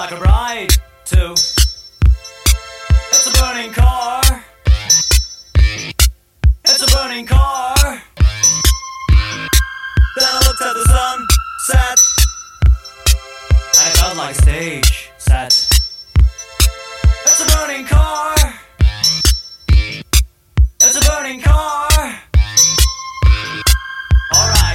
like a bride too. It's a burning car. It's a burning car. Then I looked at the sunset, and it felt like a stage set. It's a burning car. It's a burning car. Alright.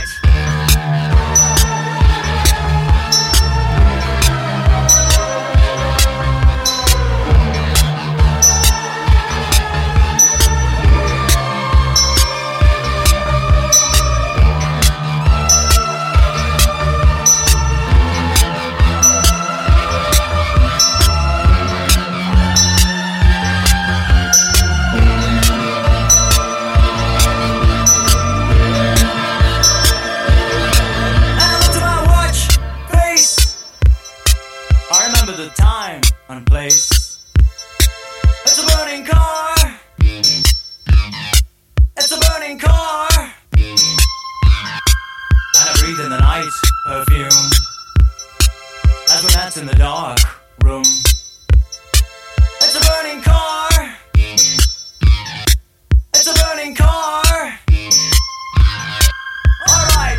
I remember the time and place. It's a burning car. It's a burning car. And I breathe in the night perfume as we met in the dark room. It's a burning car. It's a burning car. Alright.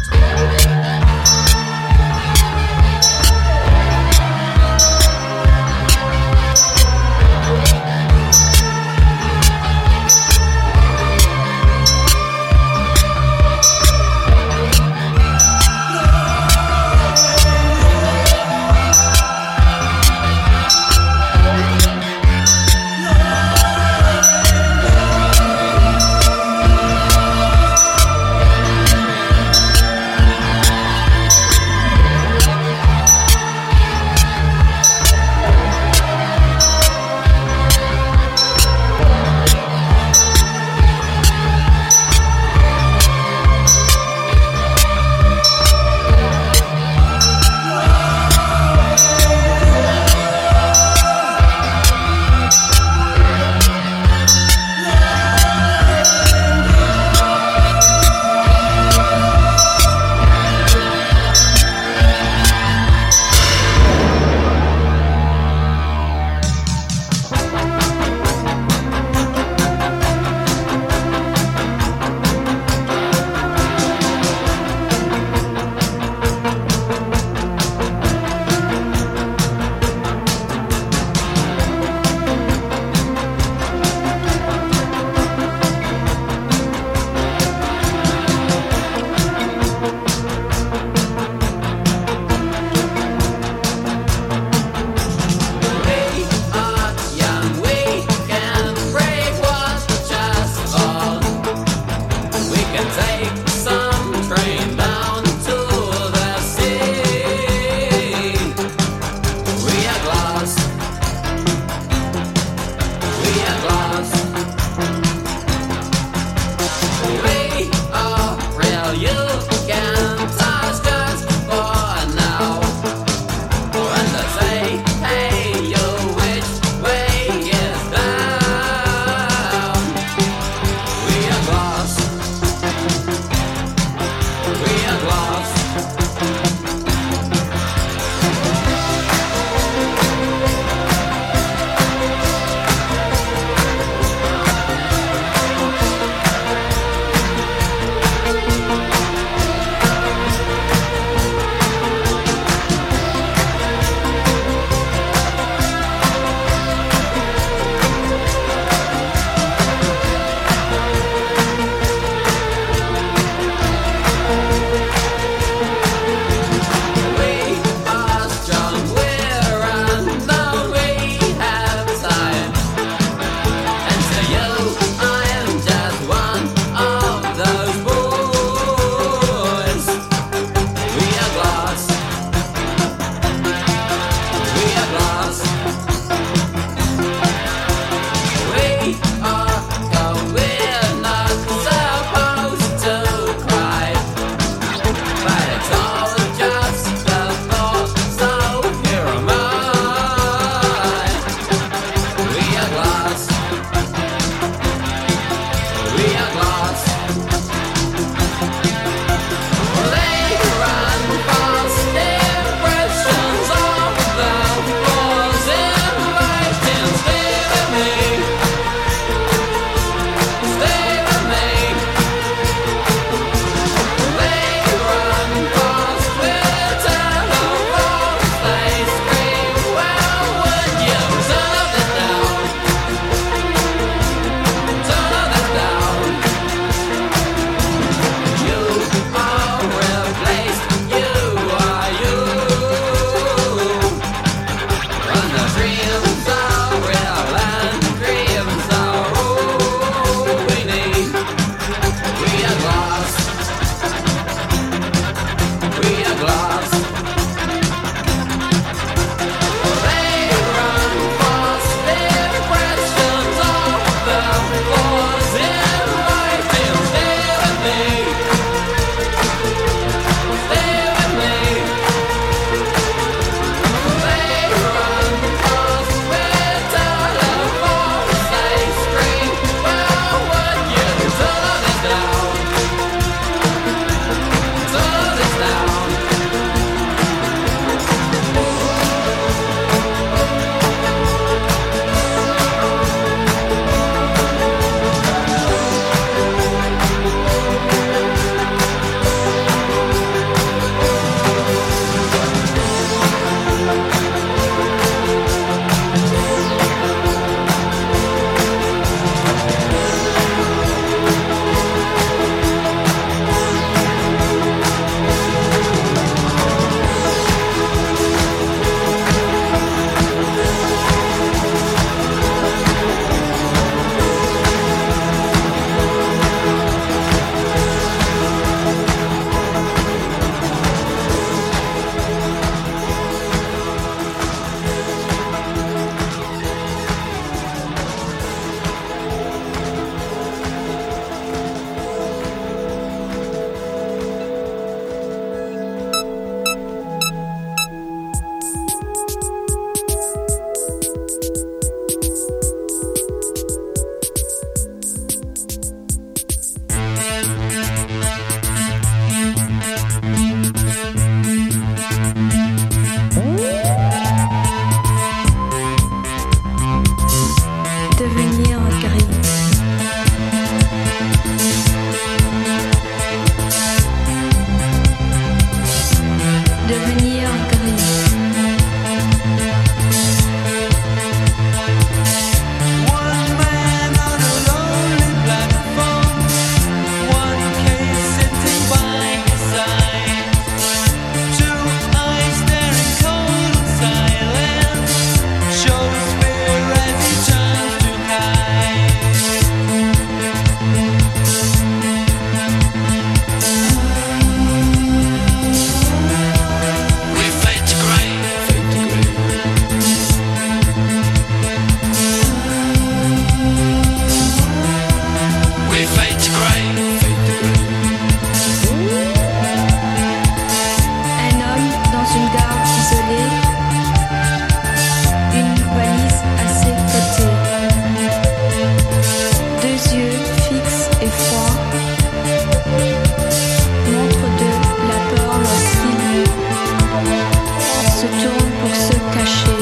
se tourne pour se cacher.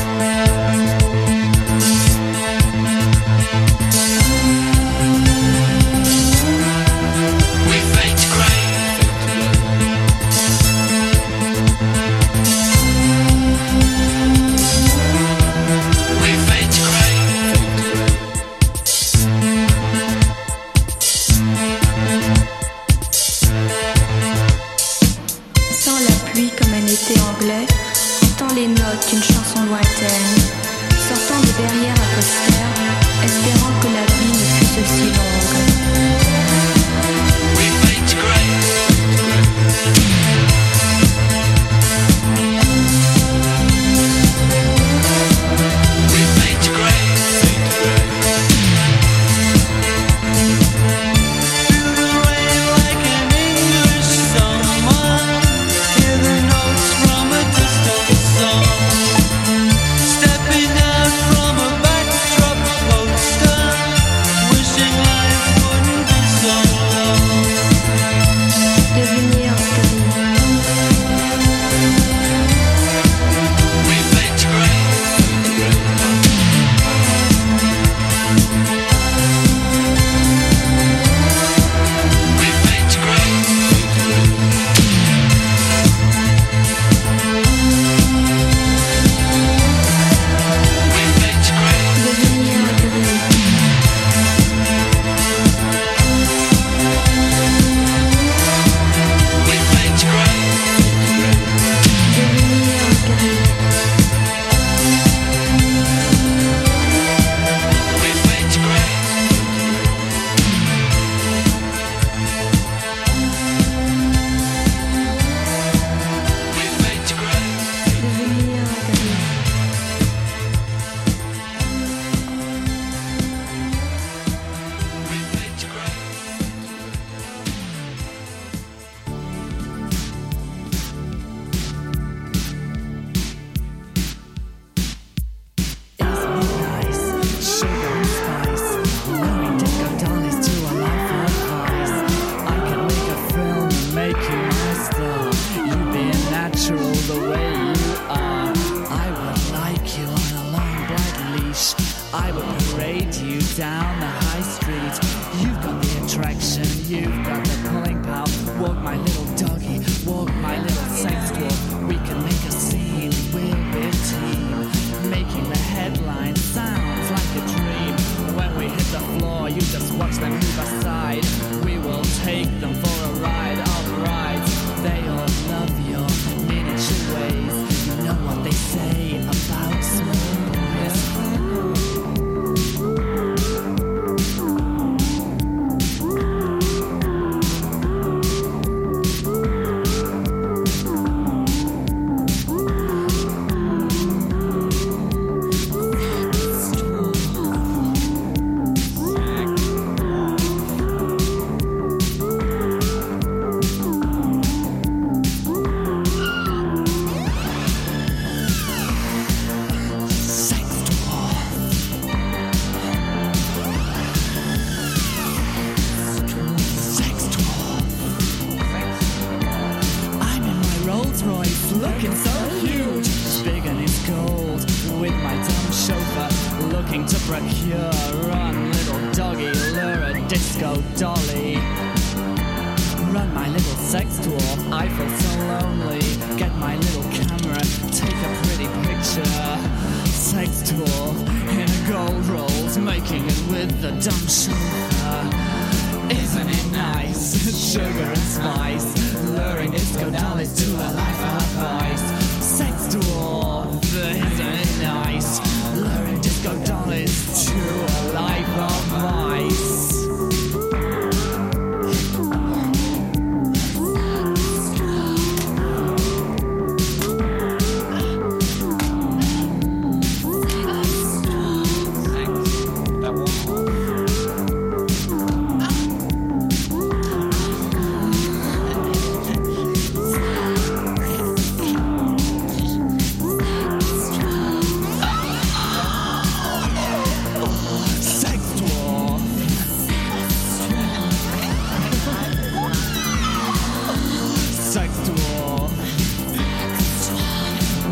Anglais, entend les notes d'une chanson lointaine, sortant de derrière un poster, espérant que la vie ne fût aussi longue. We fade grey. We fade grey. Feel the rain like an English summer. Hear the notes from a distant song. Stepping out from a backdrop poster, wishing life wouldn't be so long. Devenir we fade grey. We fade grey.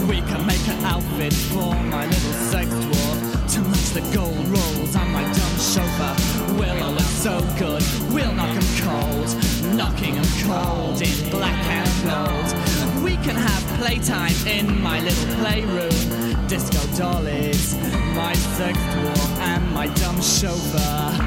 We can make an outfit for my little sex dwarf to match the gold rolls on my dumb chauffeur. We'll all look so good, we'll knock 'em cold, knocking 'em cold in black and gold. We can have playtime in my little playroom. Disco dollies, my sex dwarf and my dumb chauffeur.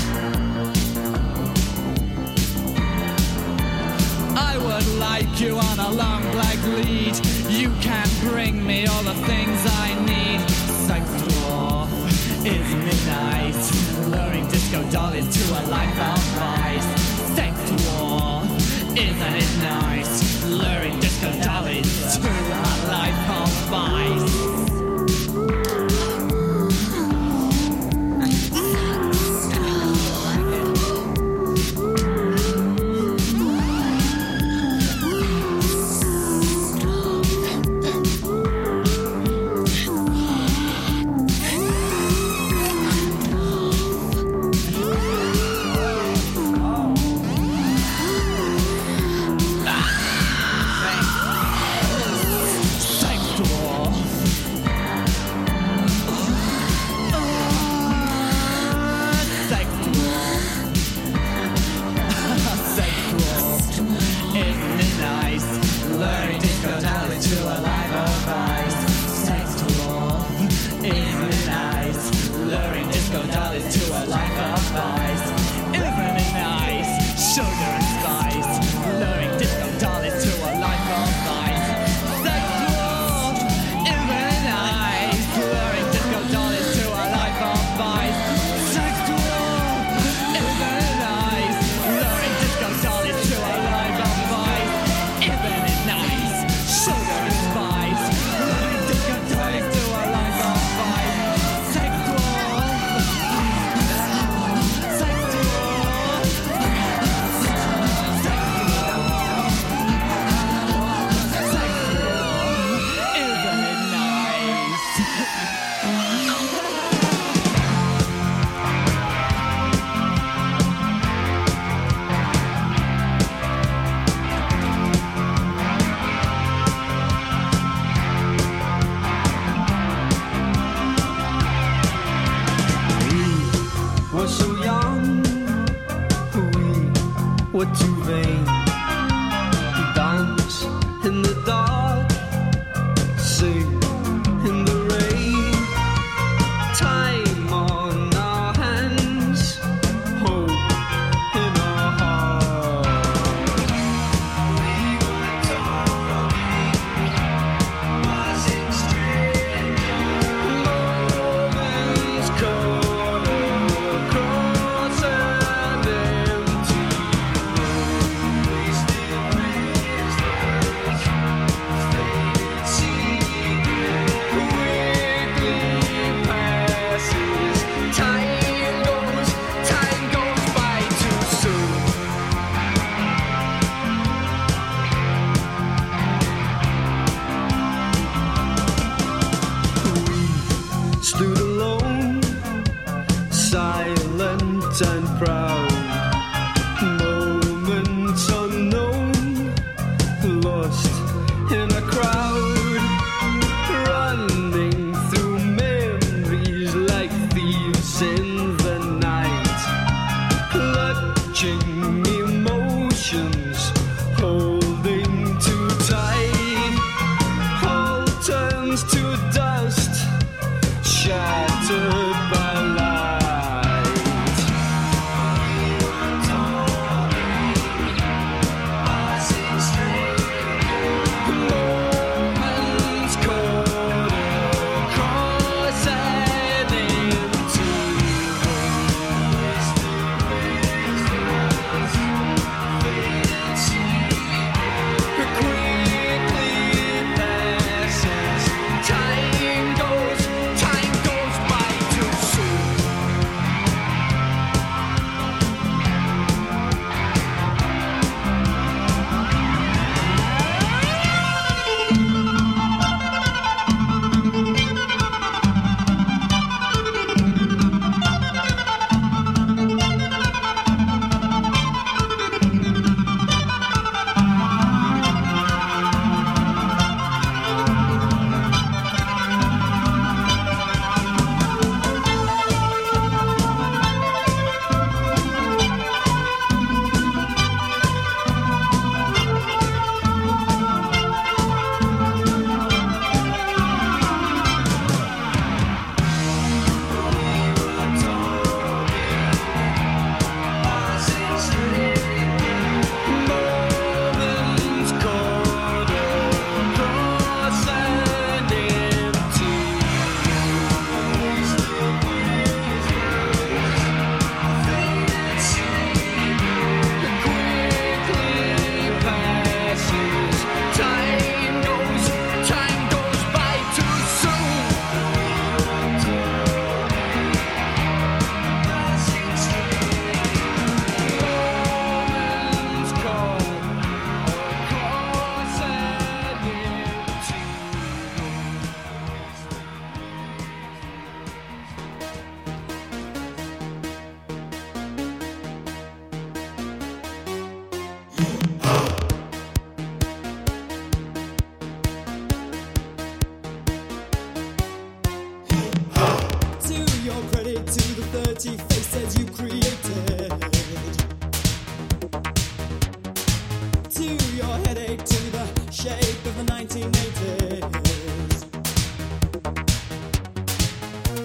I would like you on a long black lead. You can bring me all the things I need. Sex dwarf, isn't it nice? Luring disco dollies to a life of vice. Sex dwarf, isn't it nice? Luring disco dollies to a life of vice.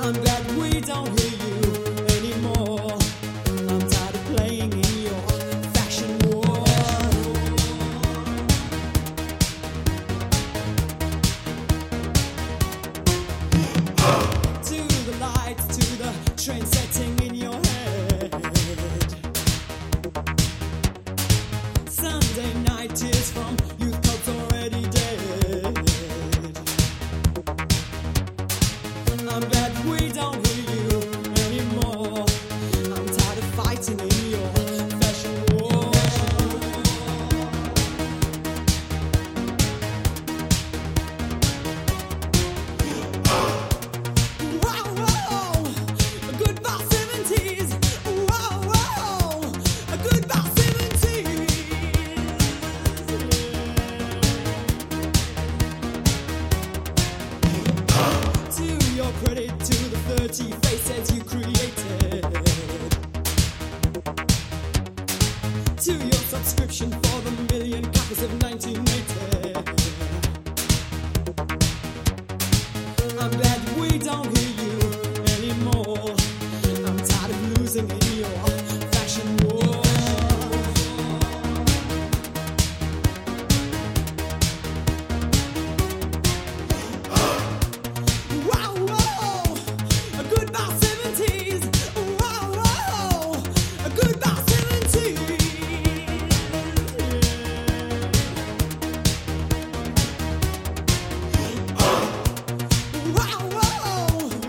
I'm glad we don't hear you anymore. I'm tired of playing in your fashion war. To the lights, to the train setting in your head. Sunday night tears from youth clubs already dead. I'm glad we don't hear you anymore. I'm tired of fighting in your fashion war. Wow, wow, goodbye 70s. Wow, wow, goodbye 70s. To your credit, to the 30 faces you created. To your subscription for the million copies of 1980. I'm glad we don't hear you anymore. I'm tired of losing in your fashion war. Wow, wow, goodbye 70s. Wow, wow, goodbye 70s. Wow, wow,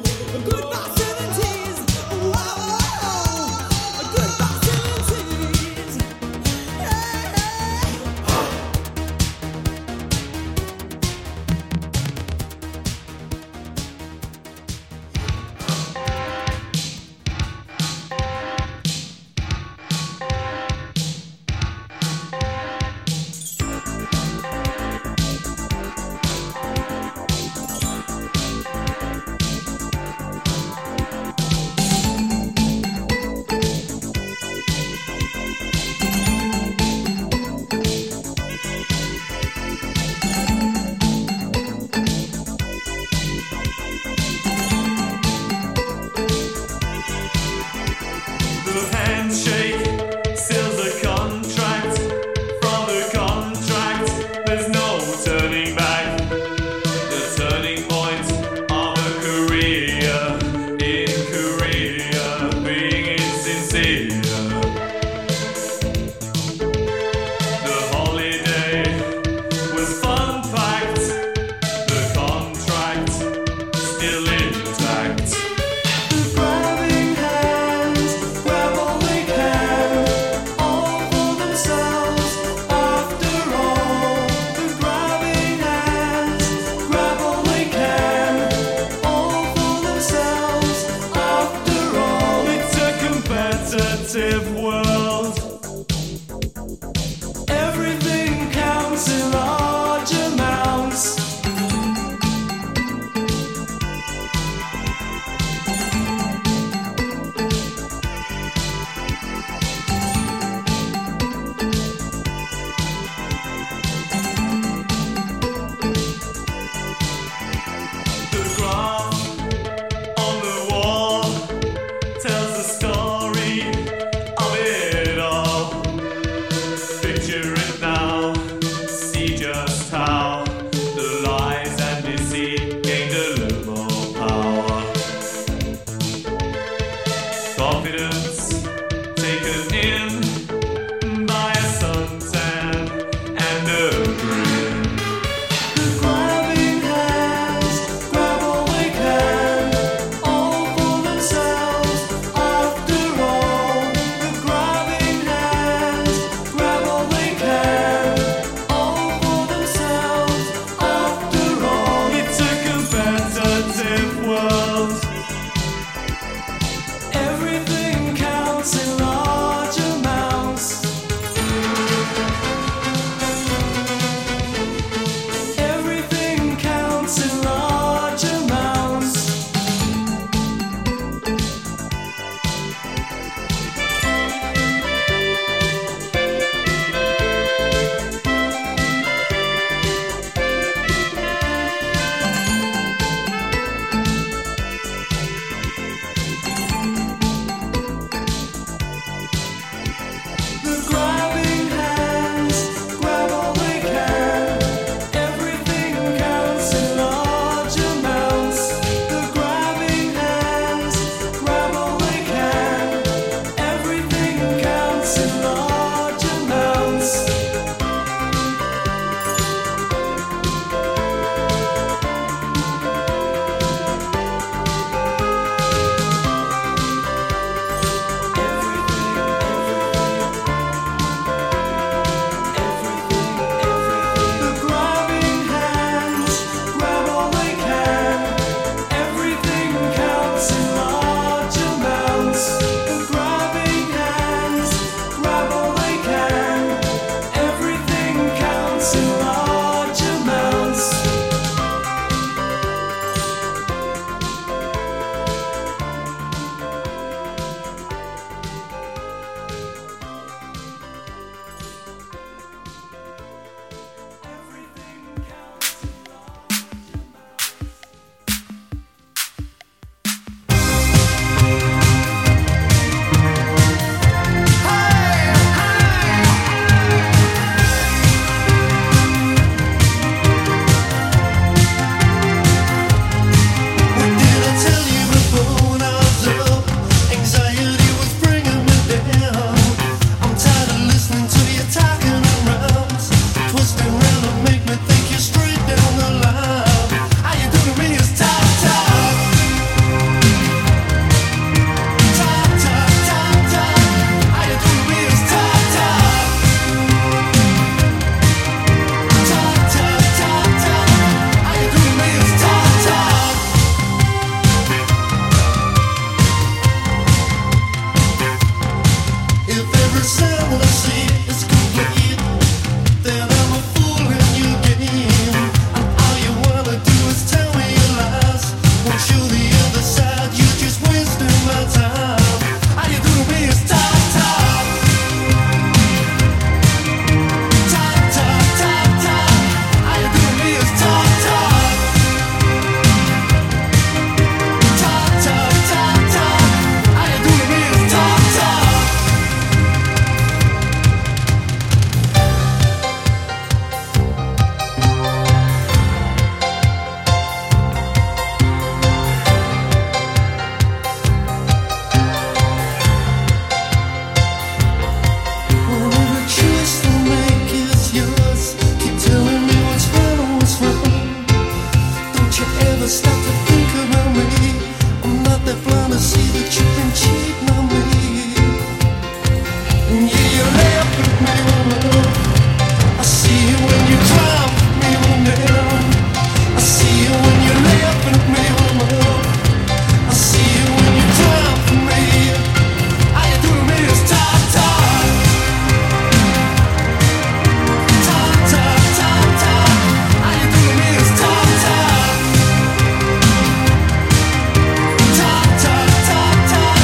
Ta ta ta ta.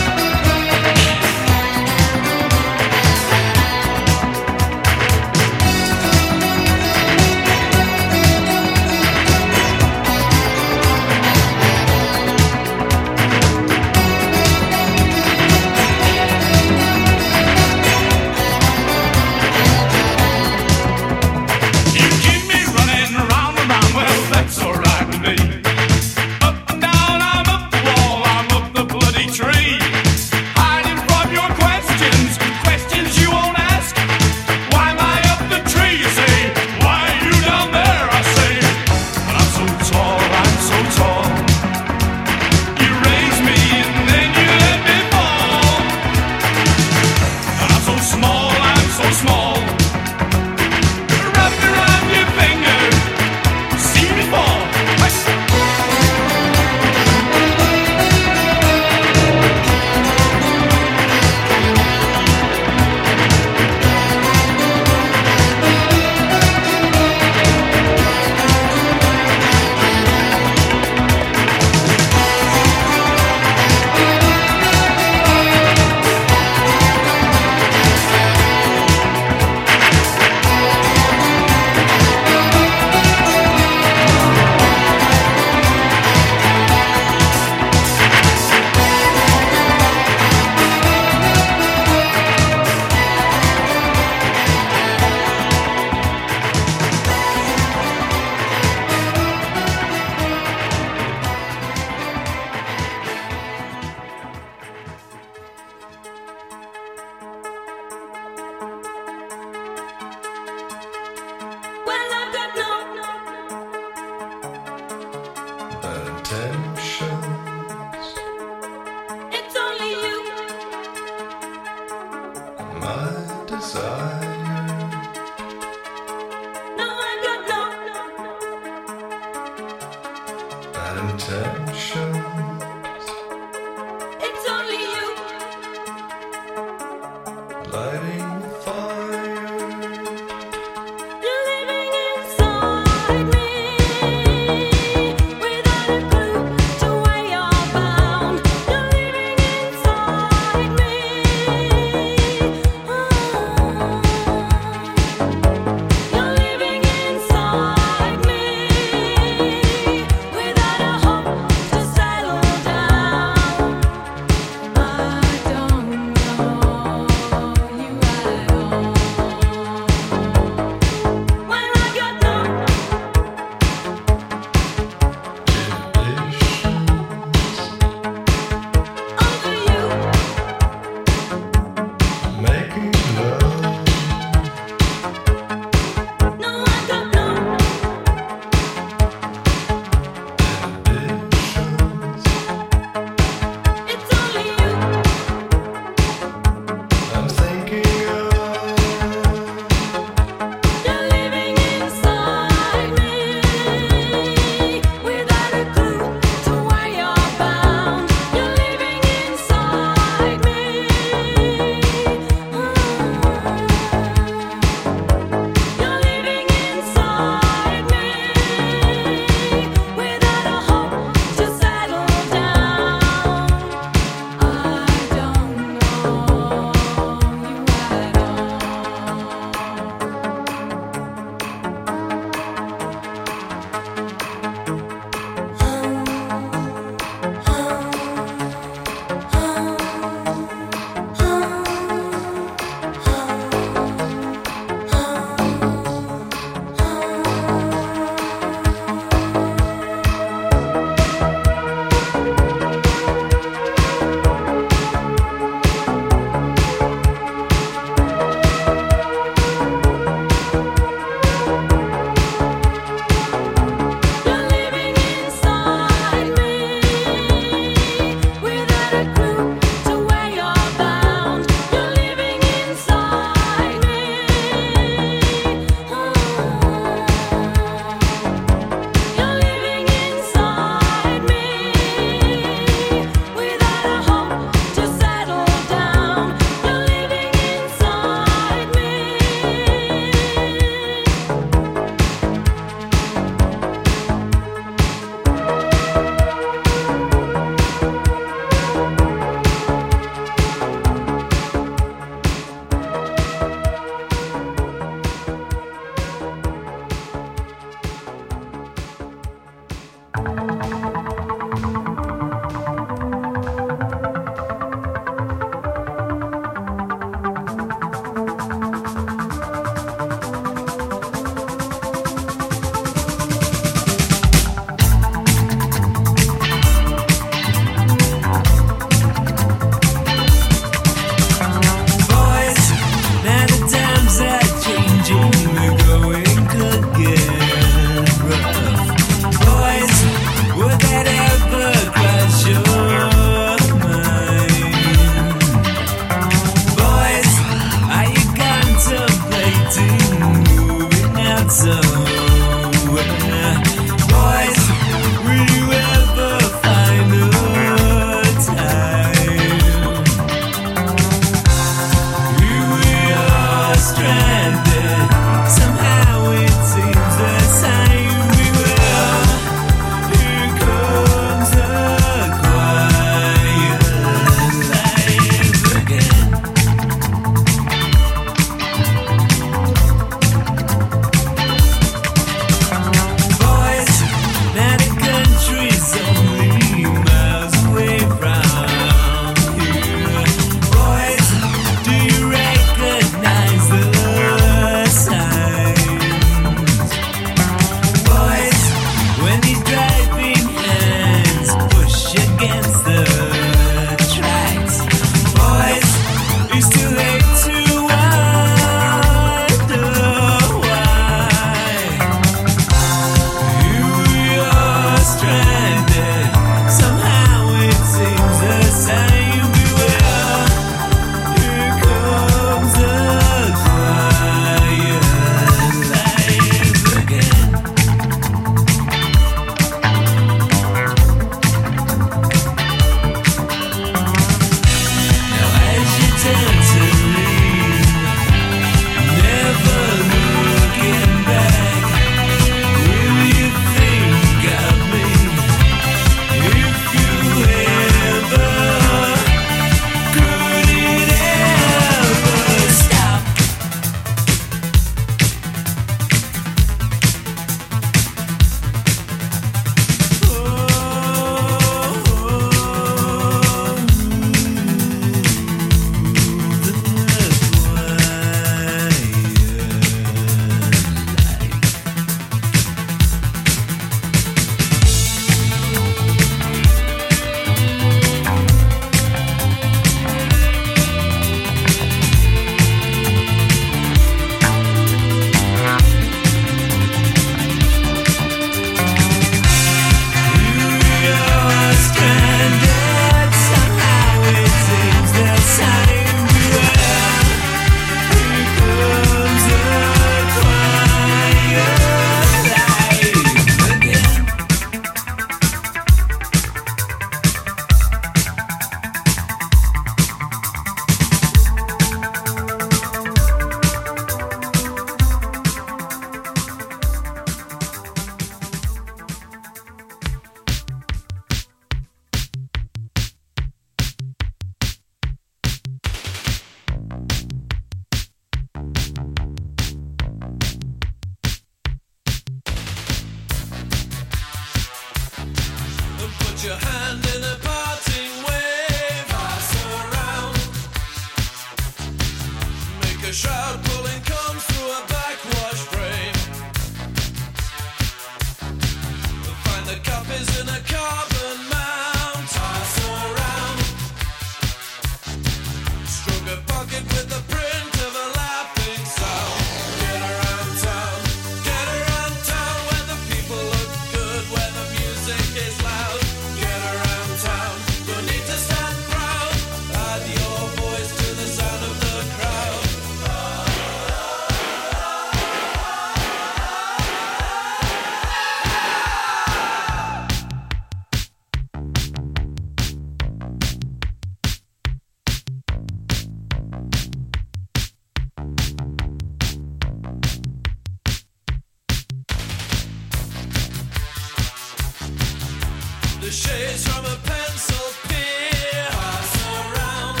The shades from a pencil pier pass around,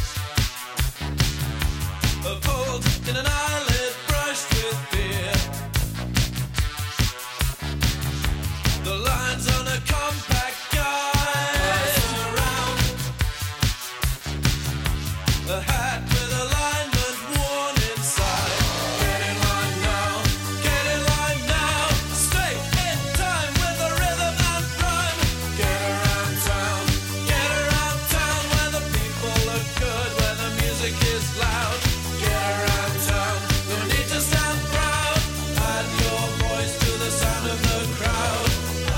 a fold in an eyelid brushed with beer. The lines on a compact guide pass around, a hat with alignment worn inside. Get in line now, get in line now. Stay in time with the rhythm and rhyme. Get around town where the people look good, where the music is loud. Get around town, no need to stand proud. Add your voice to the sound of the crowd.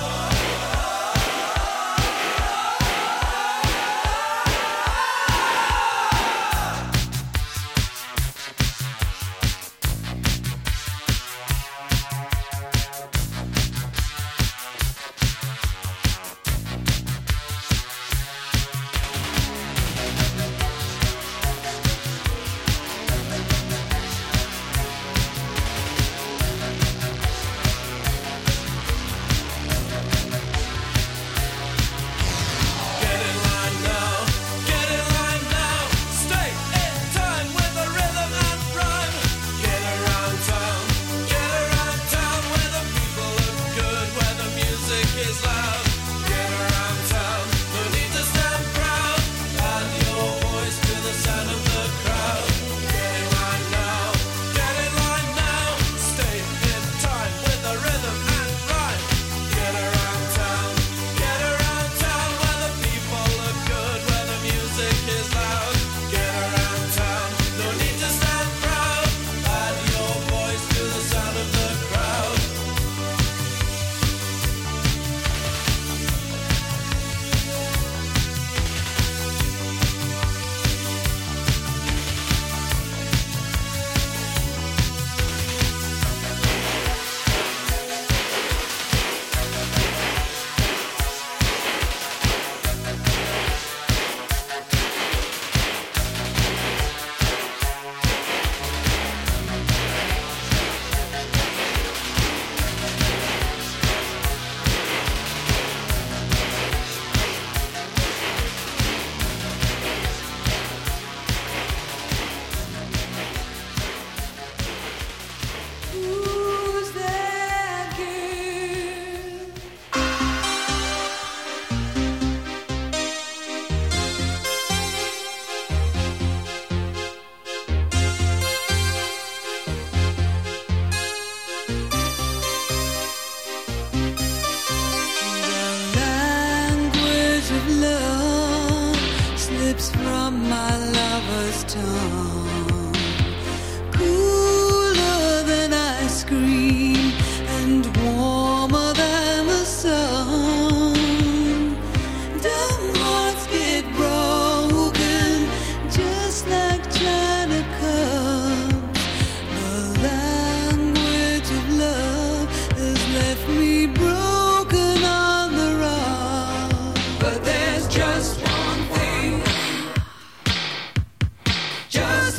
Get in line now. Stay in time with the rhythm and rhyme. Get around town where the people look good, where the music is loud. Get around town, no need to stand proud. Add your voice to the sound of the crowd. Get in line now. Stay in time with the rhythm and rhyme. Get around town where the people look good, where the music is loud. Get around town, no need to stand proud. Add your voice to the sound of the crowd. Who's that girl? The language of love slips from my lover's tongue, cooler than ice cream and warmer than the sun. Dumb hearts get broken just like china cups. The language of love has left me broken on the rock. But there's just one thing, just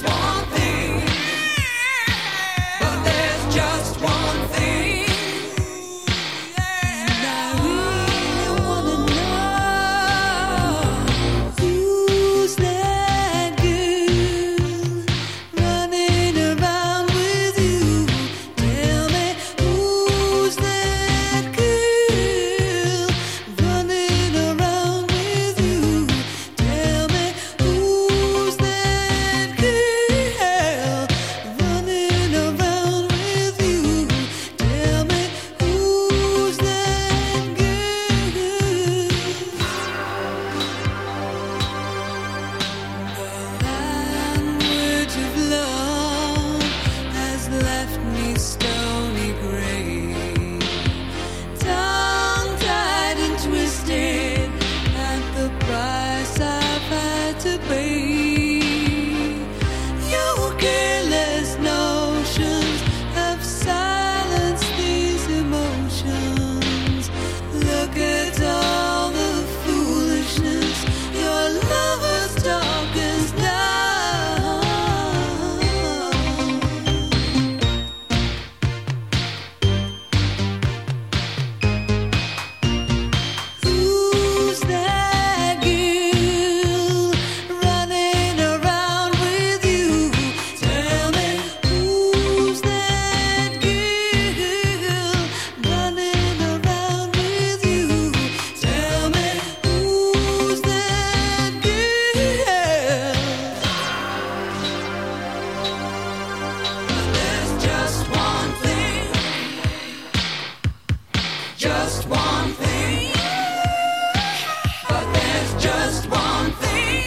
just one thing. But there's just one thing.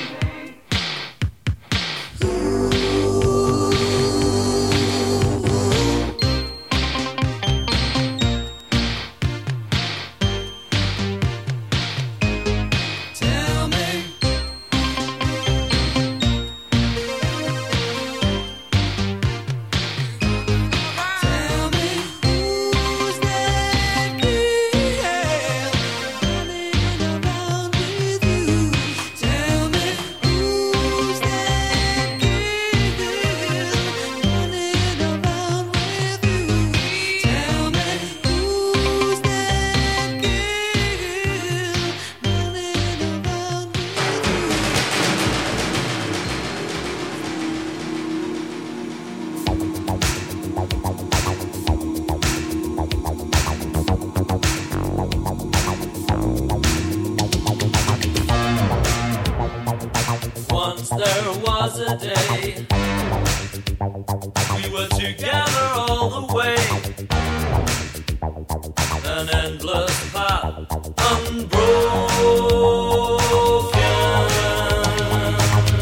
Tell me. Tell me who's that girl running around with you? Tell me who's that girl running around with you? Tell me who's that girl running around with Once there was a day we were together all the way. An endless path unbroken.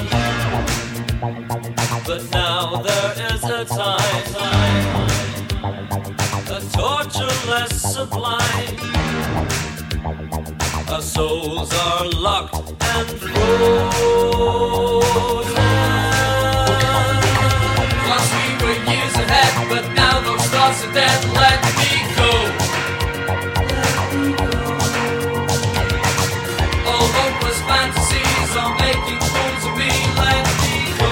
But now there is a time, a tortureless sublime. Our souls are locked and frozen. Once we were years ahead, but now those thoughts are dead. Let me go. All hopeless fantasies are making fools of me. Let me go.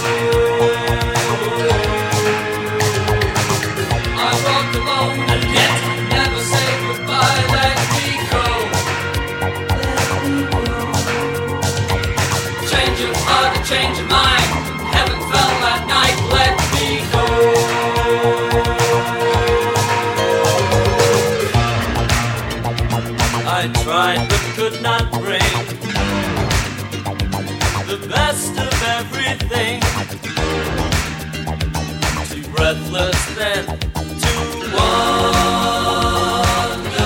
I walk alone and yet never say goodbye. Let me go. Change your heart and change your mind. Heaven fell that night. Let me go. I tried but could not bring the best of everything. Too breathless then to wonder.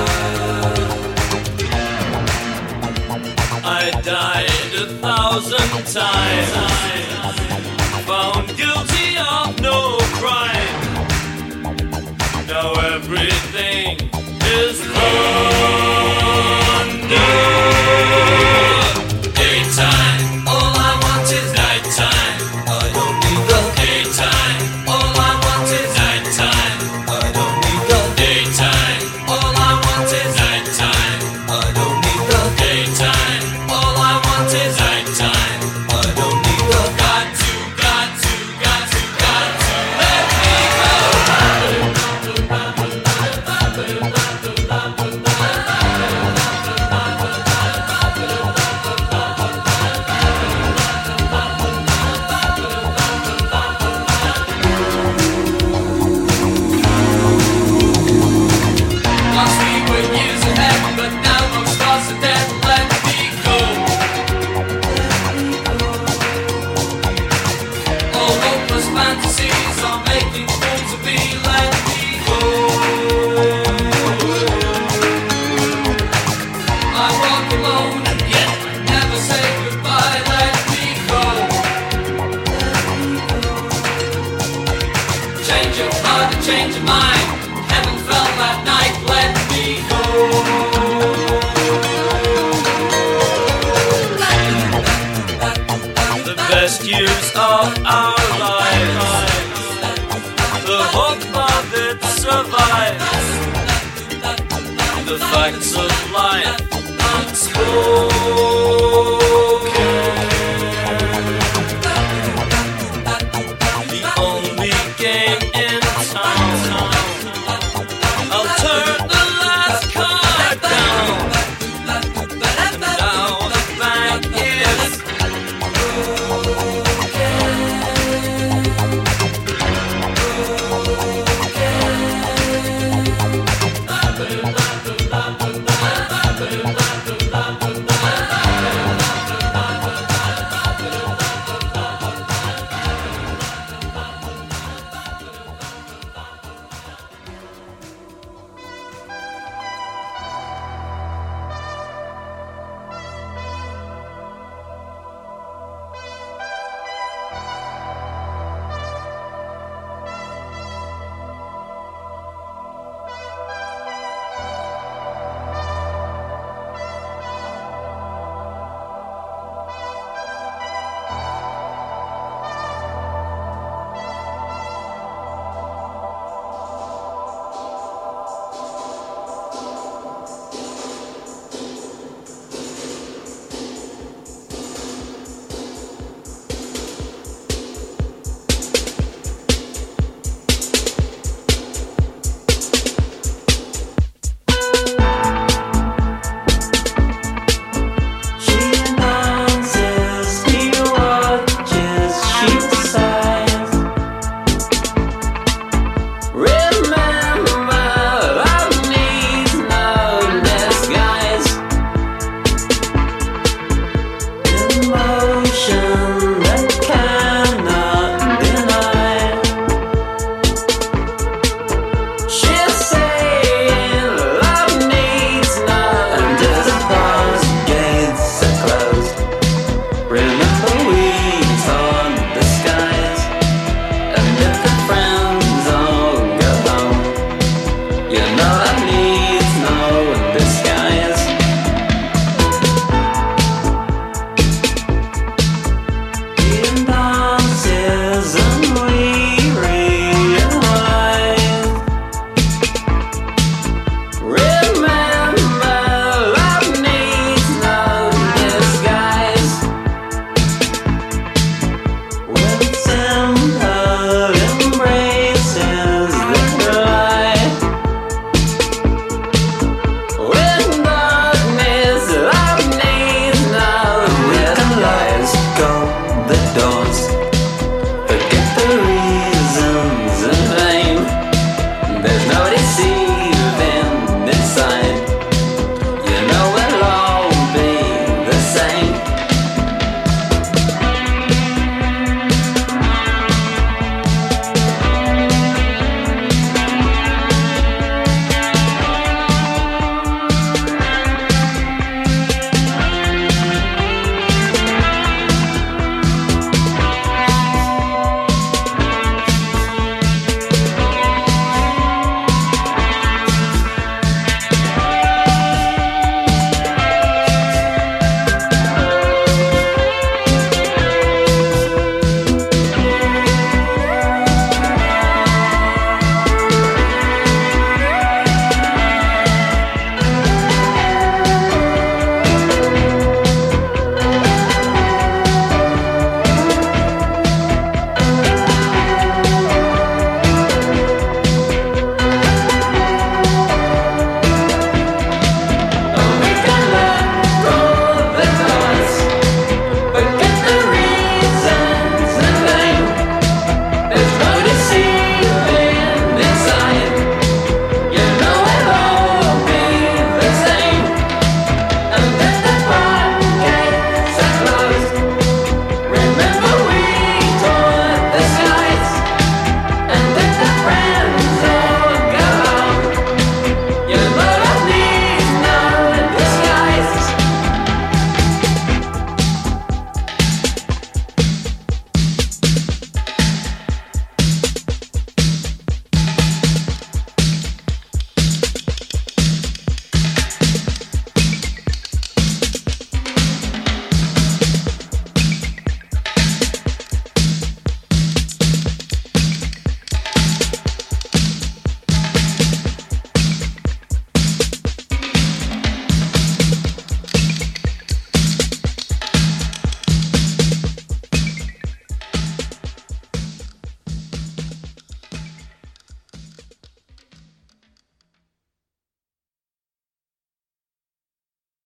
I died 1,000 times, found guilty of no crime. Now everything is thunder. Daytime, all I want is nighttime. I don't need the daytime. All I want is nighttime. I don't need the daytime. All I want is nighttime. I don't need the daytime. All I want is nighttime. I don't need the got to let me go. Once we were years ahead, but now those stars are dead. Let me go. All hopeless fantasies are making fools of me. Let me go. I walk alone and yet never say goodbye. Let me go. Change your heart and change your mind. Heaven fell that night. Let me go. The best years of our lives, the hope of it survives, the facts of life unspoken.